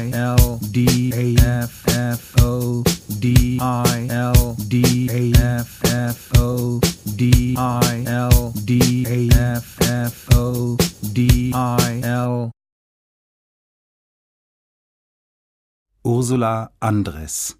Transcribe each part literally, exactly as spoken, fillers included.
I L D A F F O D I L D A F F O D I L D A F F O D I L. Ursula Andres.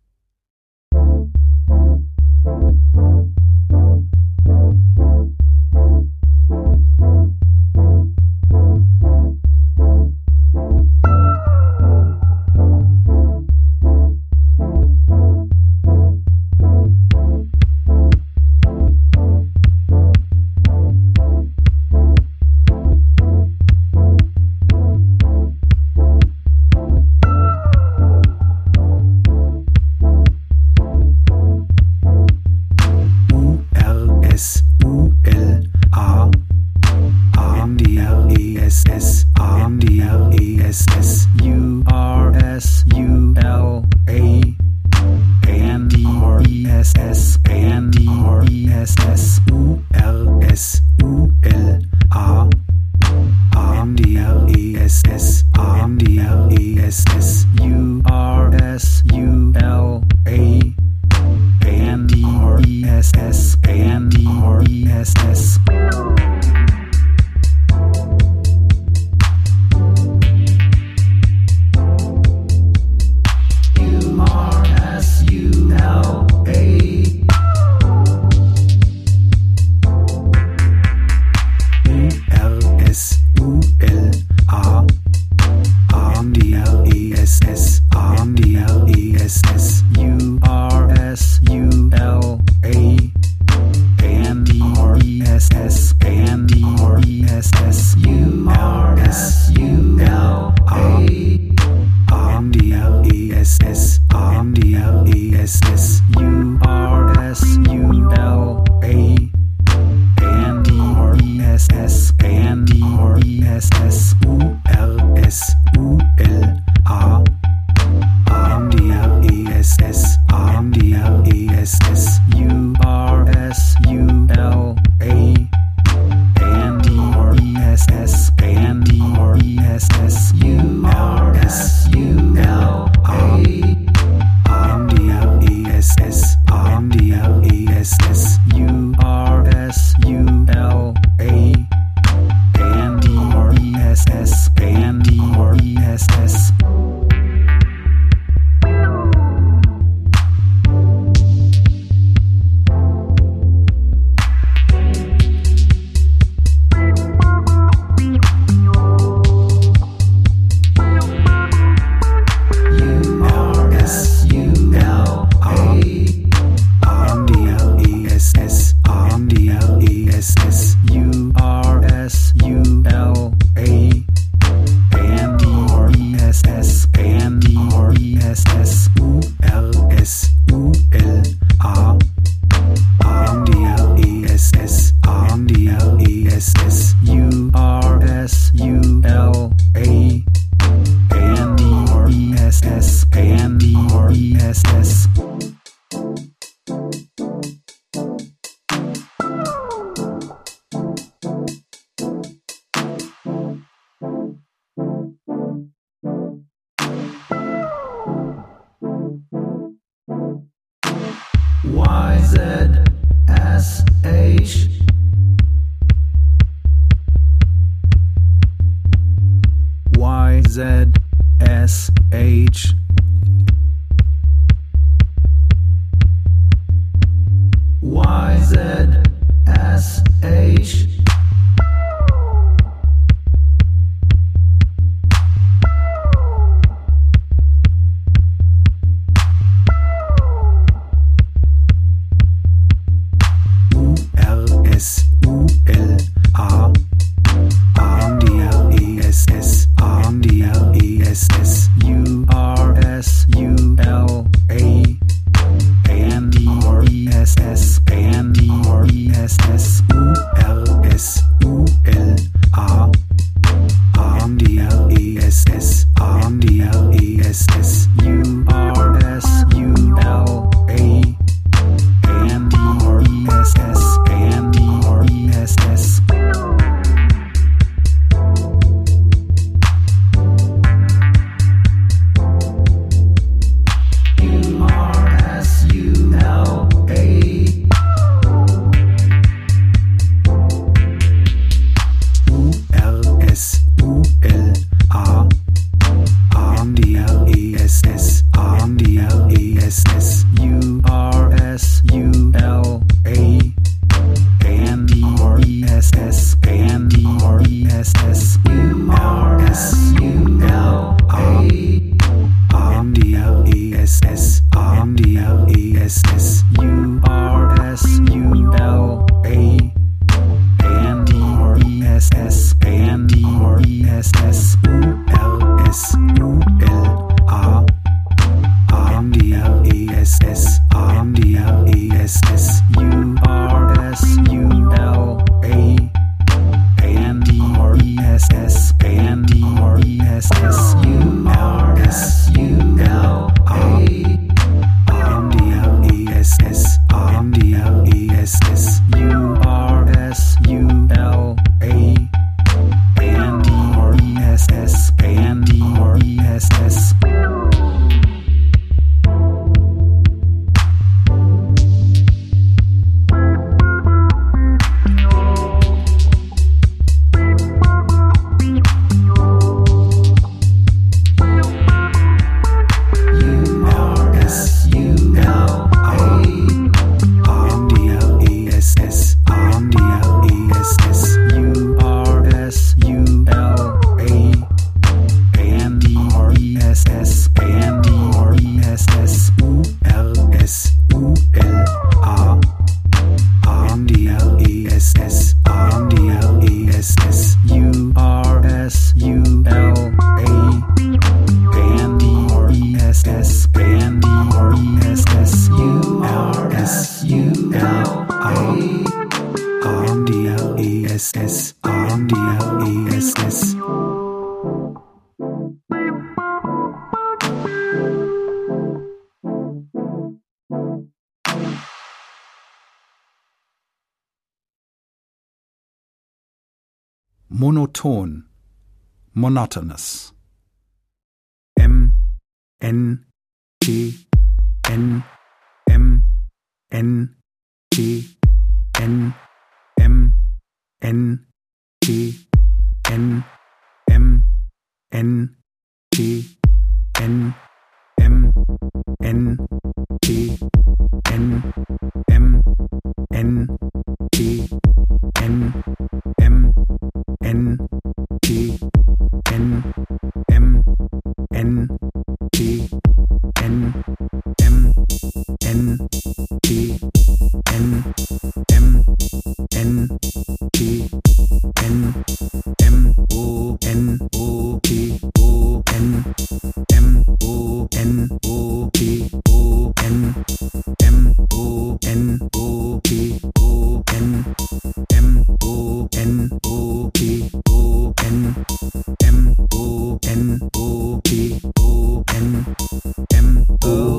Y Z S H Y Z S H Y Z S H S U L A A N D R E S S A N D R E S S U R monoton, monotonous. M, N, T, N, M, N, T, N, M, N, T, N, M, N, T, N, M, N, T, N, M, N, T, N, M, N, T, N, M, N, T, N, M, N, T, N, M, N, T, N, M, O, N, O, T, O, N, M, O, N, O, T, O, N, M, O, N, O, T, O, N, M, O, N, O, T, O, N, M, O, N, O, T, O, N, M, O,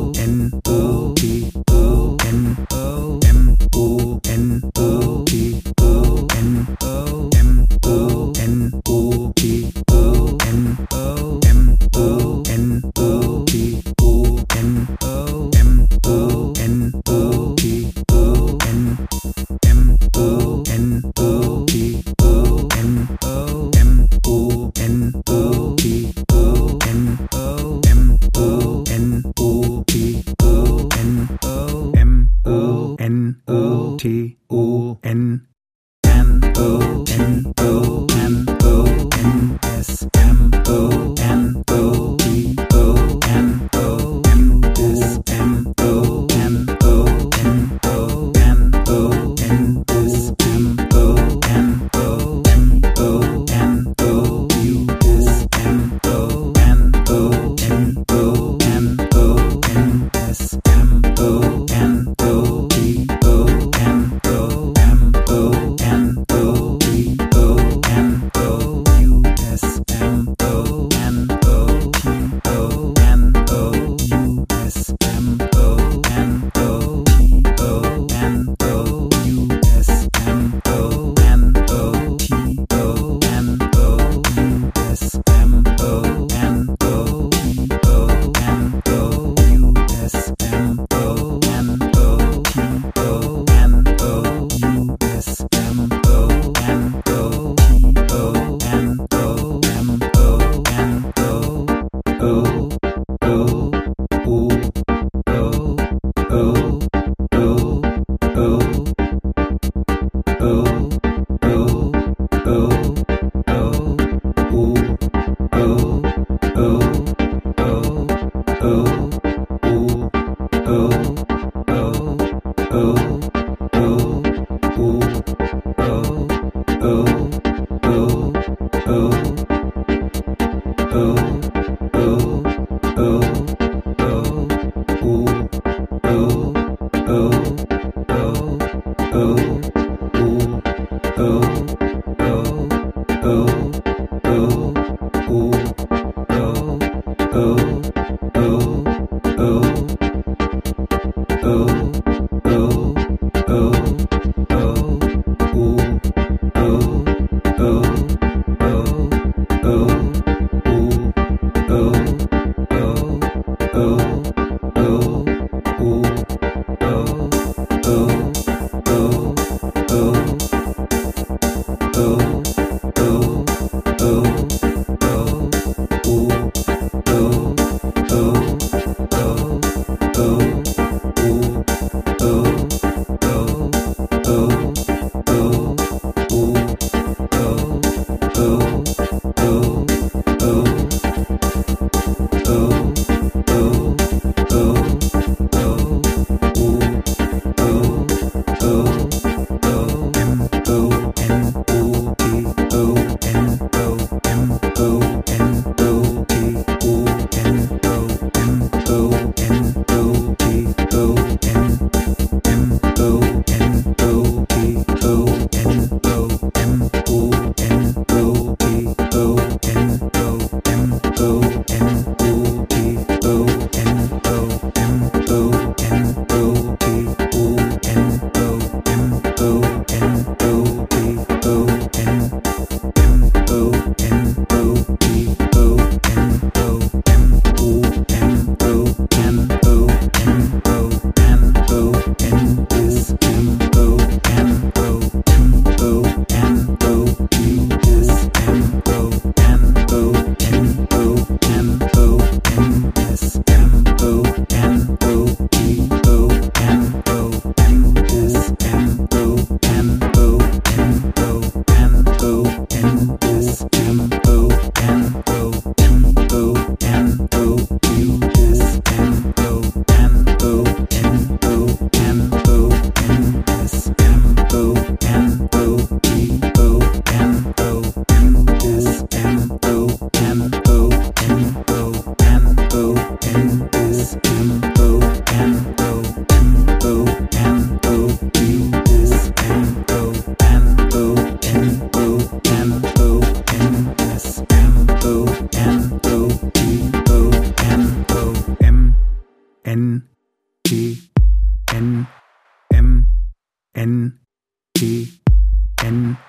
N T N M N T N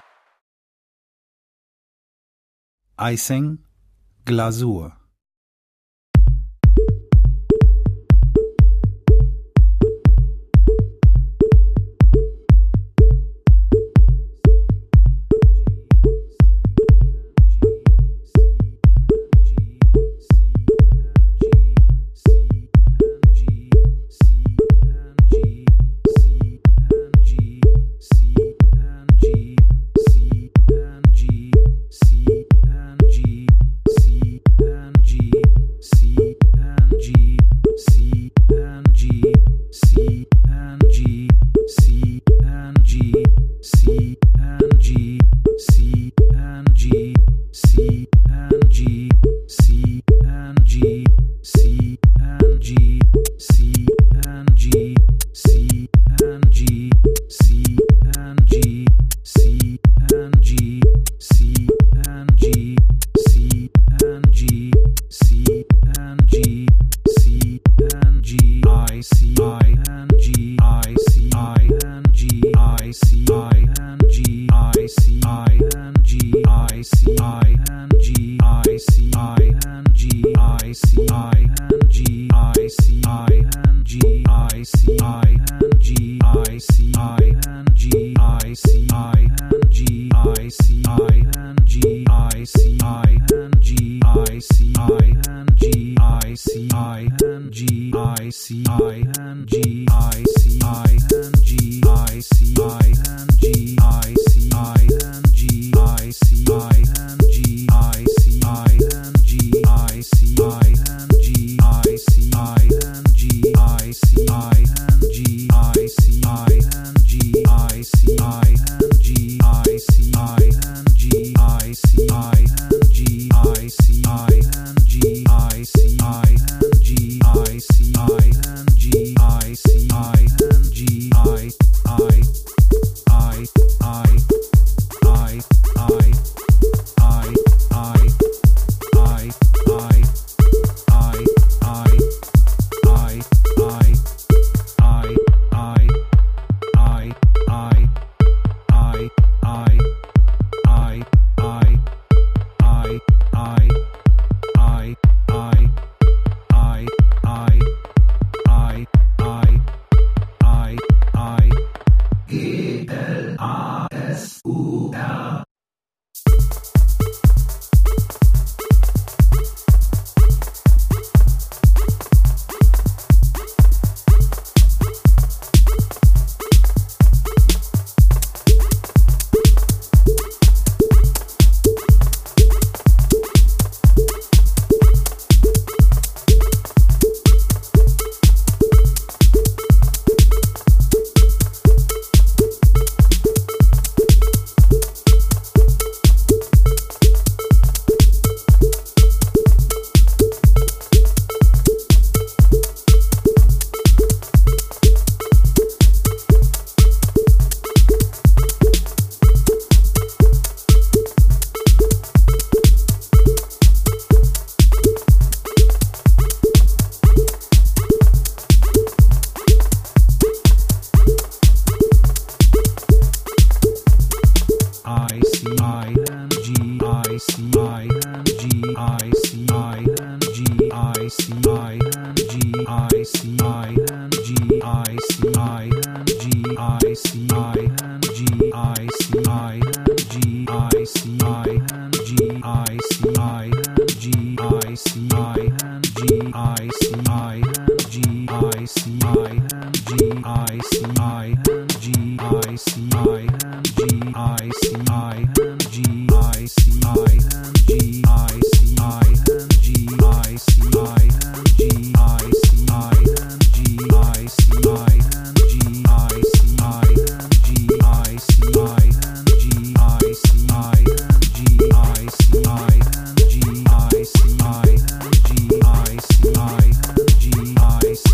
Icing, Glasur.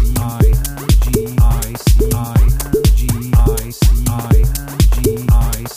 I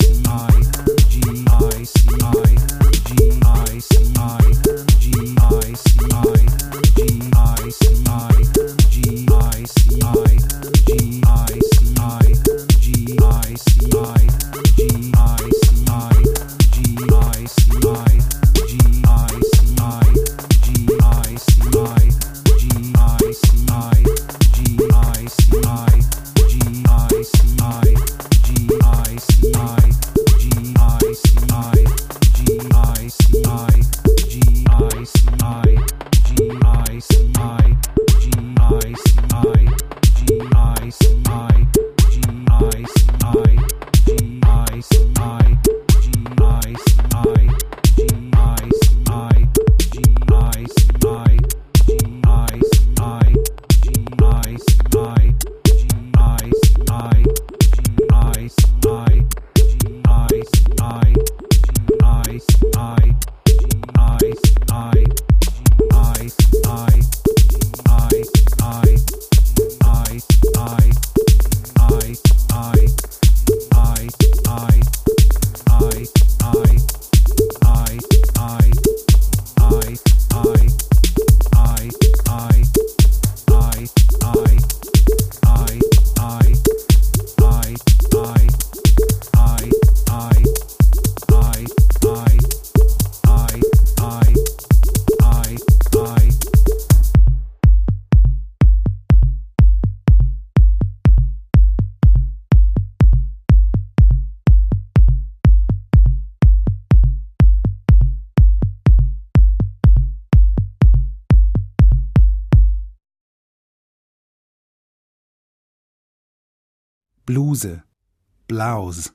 Bluse, Blouse.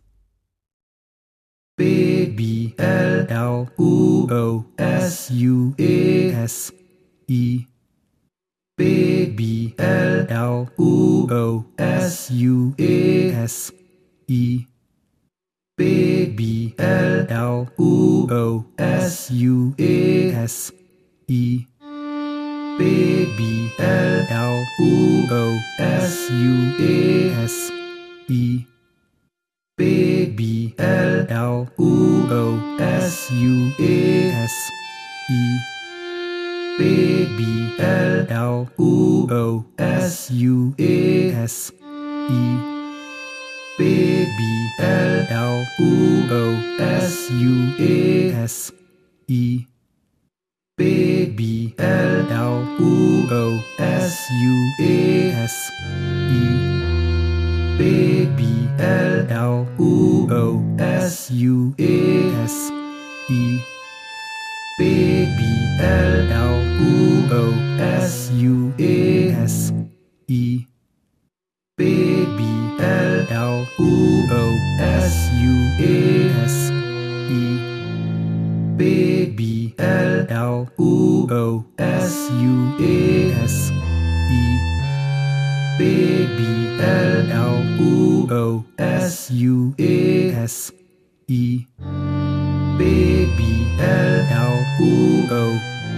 B B L L U O S U E S I B B L L U O S U E S I B B L L U O S U E S I B B L L U O S U E S I B B L L U O S U E S I B B L L U O S U E S I B B L L U O S U E S I B B L L U O S U E S I B B L L U O S U E S I B B L L U O S U E S I B B L L U O S U E S I B B L L U O S U E S I B B L L U O S U E S I B B L L U O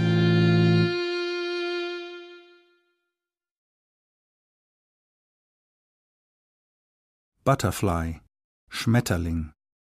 Butterfly, Schmetterling.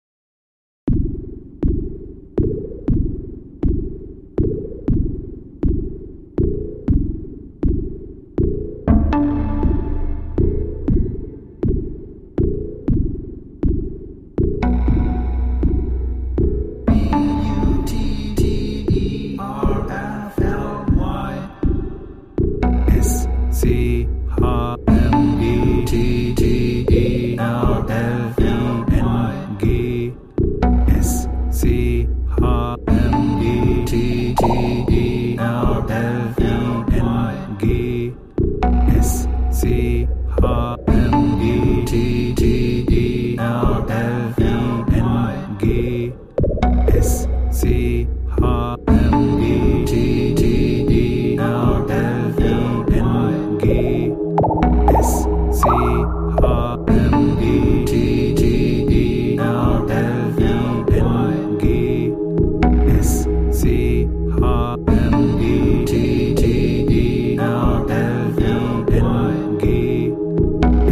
C H M E T T E R L I N G S C H M E T T E R L I N G S C H M E T T E R L I N G S C H M E T T E R L I N G S C H M E T T E R L I N G S C H M E T T E R L I N G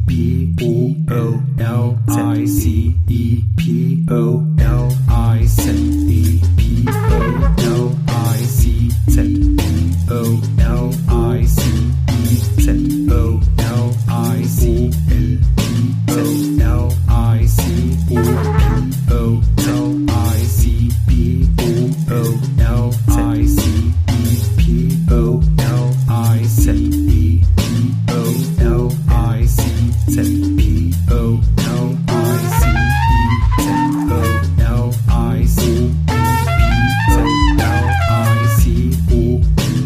B O O L I C E P O L I Z E P O L I C Z P O L I C E Z O L I C L P O L I C O P O L I C B O O L I C E P O L I Z E P O L I C Z P O L I C E Z O L I C E P O L I C O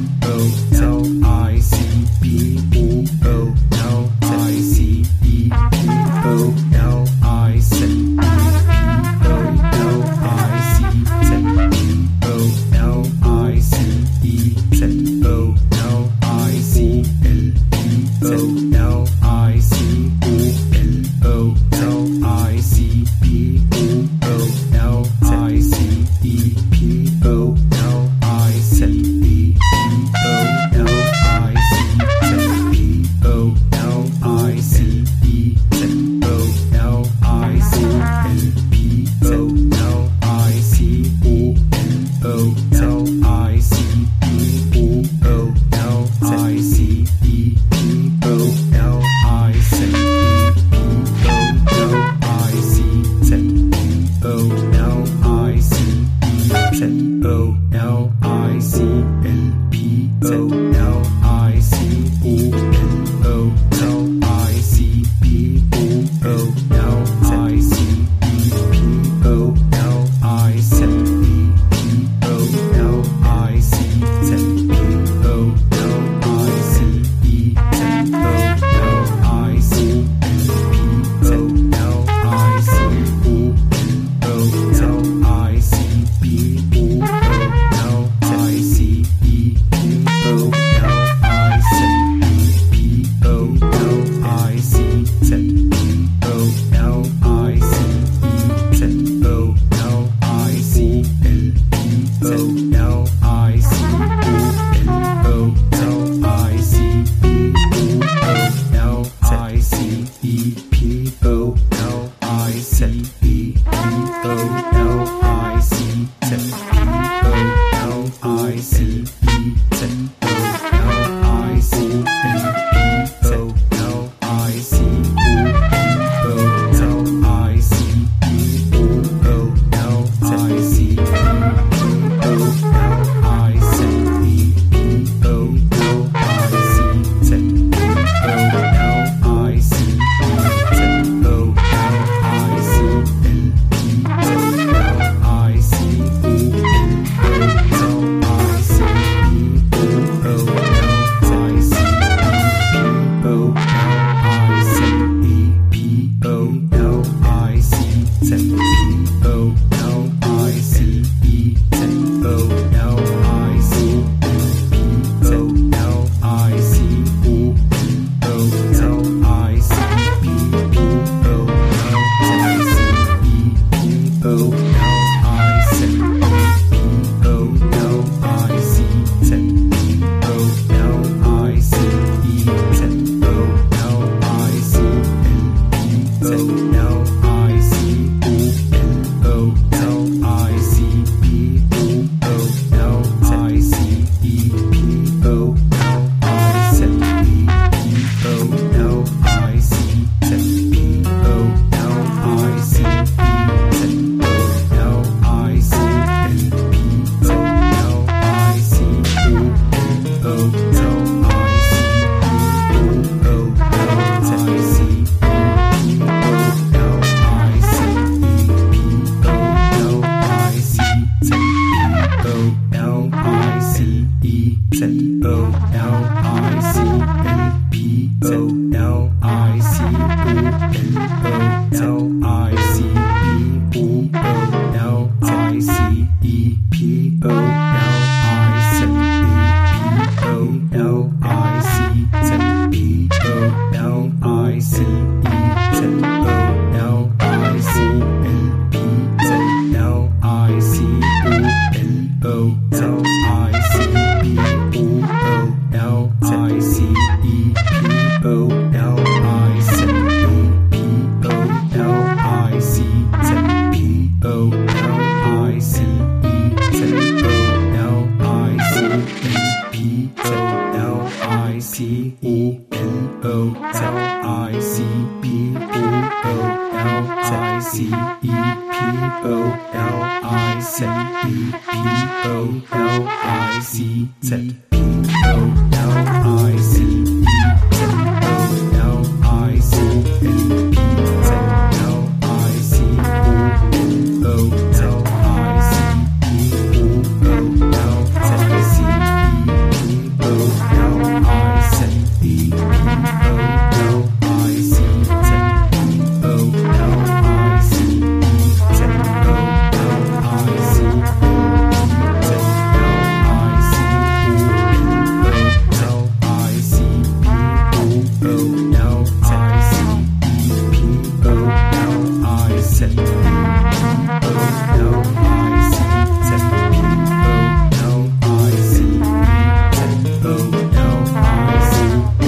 P O L I C B O O L I C E P O L I Z E P O L I C Z P O L I C E Z O L I C L P O L I C O L O L I C B O O L I C E P O L I Z E P O L I C Z P O L I C E Z O L I C L P O L I C O L O L I C E O O L I C E P O L I Z E P O L I C Z P O L I C E Z O L I C L P O L I C O L O L I C B O O L I C E P O L I Z E P O L I C Z P O L I C E Z O L I C L P O L I C O L O L I C B O O L I C E P O L I Z E P O L I C Z P O L I C E Z O L I C L P O L I C O L O L I C B O O L I C E P O L I Z E P O L I C Z P O L I C E Z O L I C L P O L I C O O L I C E O O L I C E P O L I Z E P O L I C Z P O L I C E Z O L I C L P O L I C O L I C E O O L I C E P O L I Z E P O L I C Z P O L I C E Z O L I C P O L I C O O L I C B O O L I C E P O L I Z E P O L I C Z P O L I C E Z O L I C L P O L I C O L O L I C B O O L I C E P O L I Z E P O L I C Z P O L I C E Z O L I C L P O L I C O O L I C O O L I C E P O L I C E P O L I C Z P O L I C E Z O L I C L P O L I C O L O L I C B O O L I C E P O L I Z E P O L I C Z P O L I C E Z O L I C L P Z L I C O L O L I C B O O L I C E P O L I Z I C P O O L I C E P O L I C E P O L I C Z P O L I C E Z O L I C N P Z L I C O O L I C E O O L I C E O L I C E P O L I C Z O L I C E Z O L I C Z L I C O I C P O L I C E P O L I C E P O L I C Z P O L I C E Z O L I C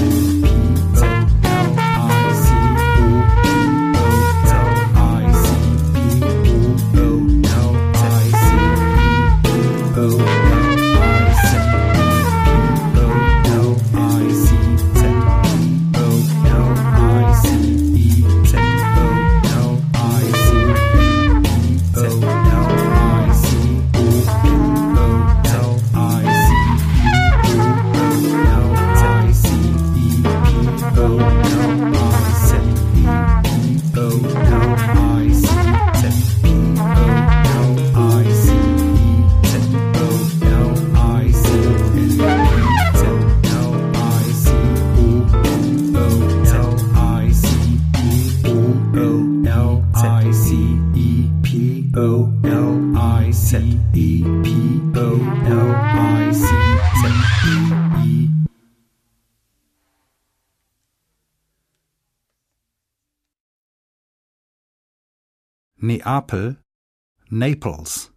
Neapel, Naples.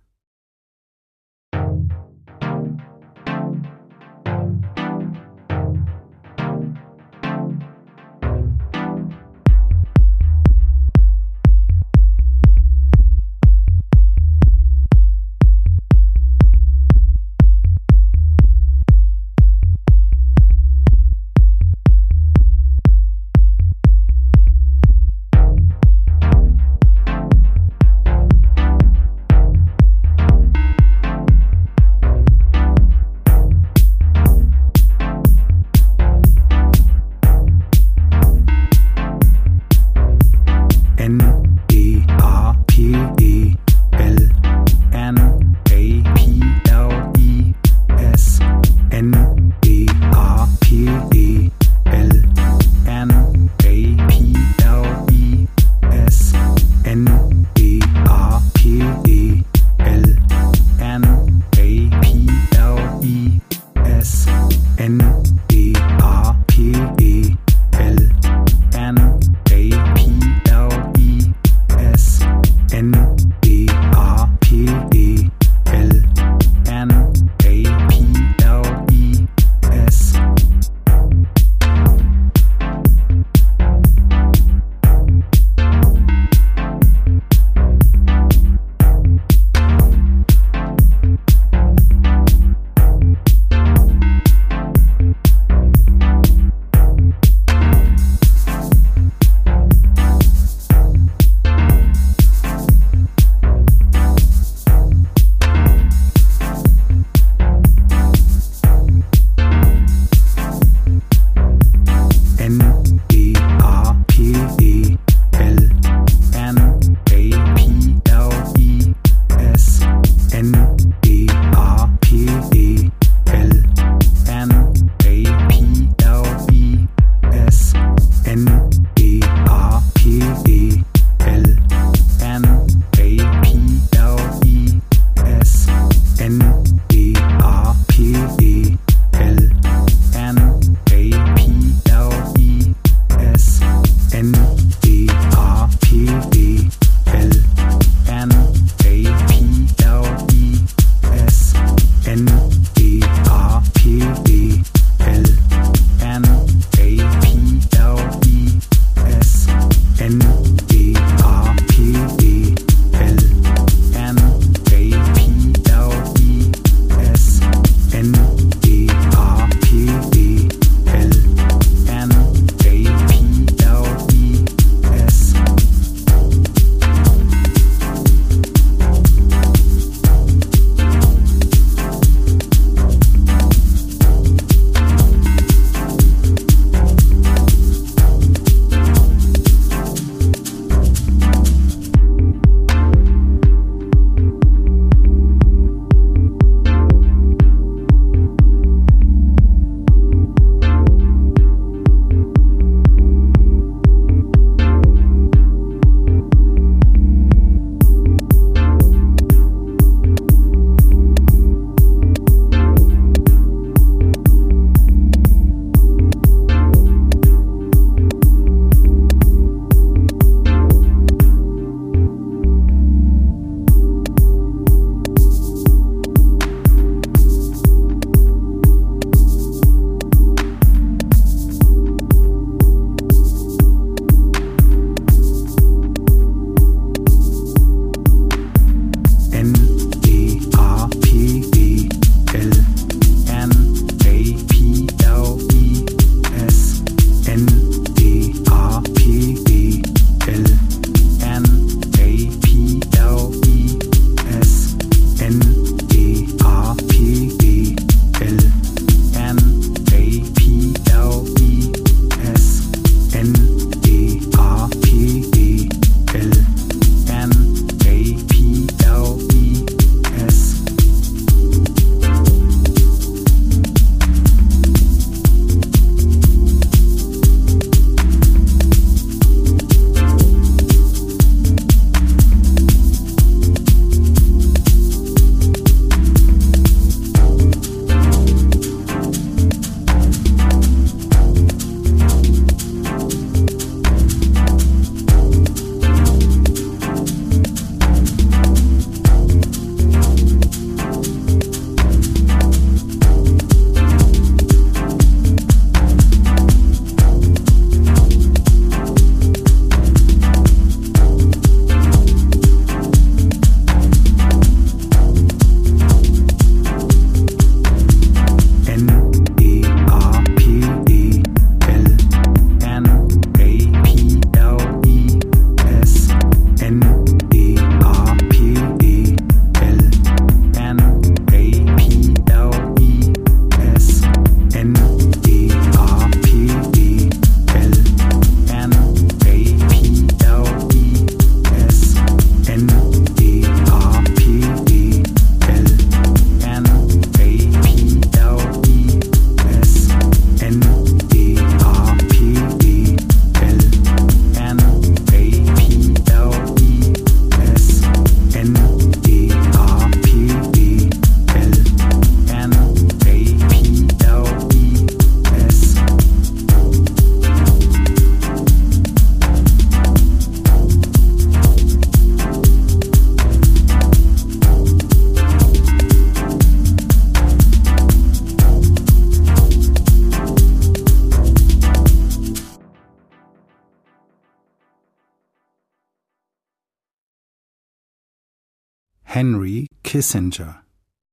Henry Kissinger.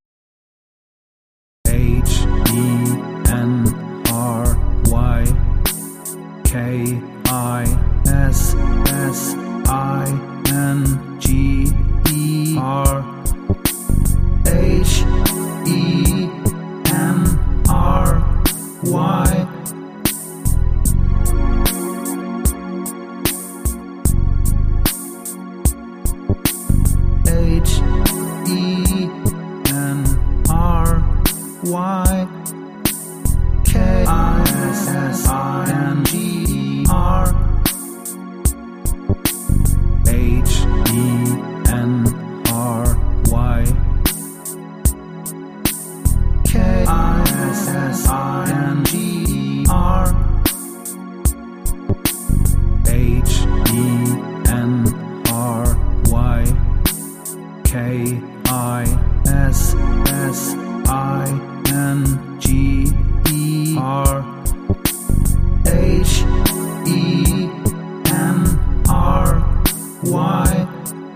H E N R Y K I S S I N G E R. H E N R Y. H E N R Y K I S S I N G E R. H E N R Y K I S S I N G E R. H E N R Y K I S S I N G E R. H E N R Y.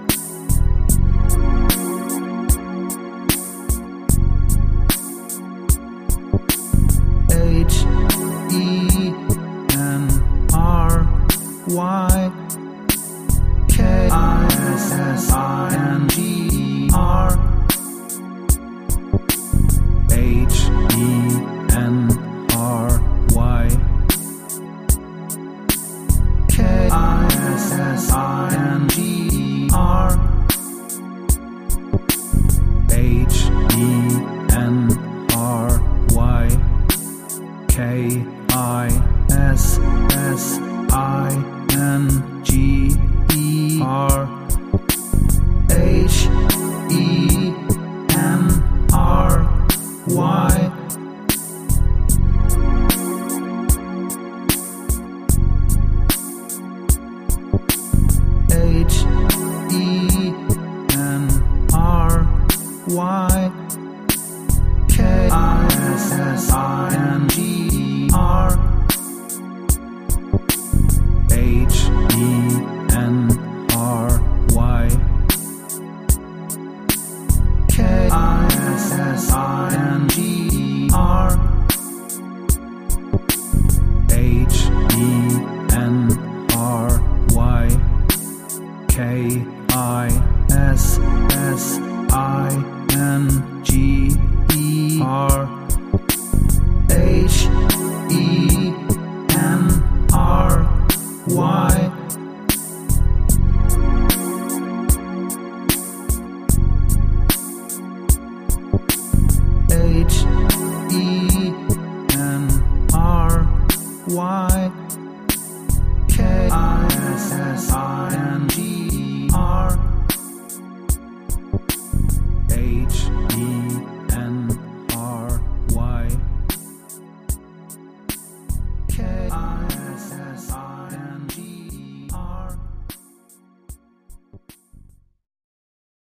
H E N R Y K I S S I N G E R. H E N R Y K I S S I N G E R. H E N R Y K I S S I N G E R. H E N R Y. H E N R Y K I S S I N G E R. H E N R Y K I S S I N G E R. H E N R Y K I S S I N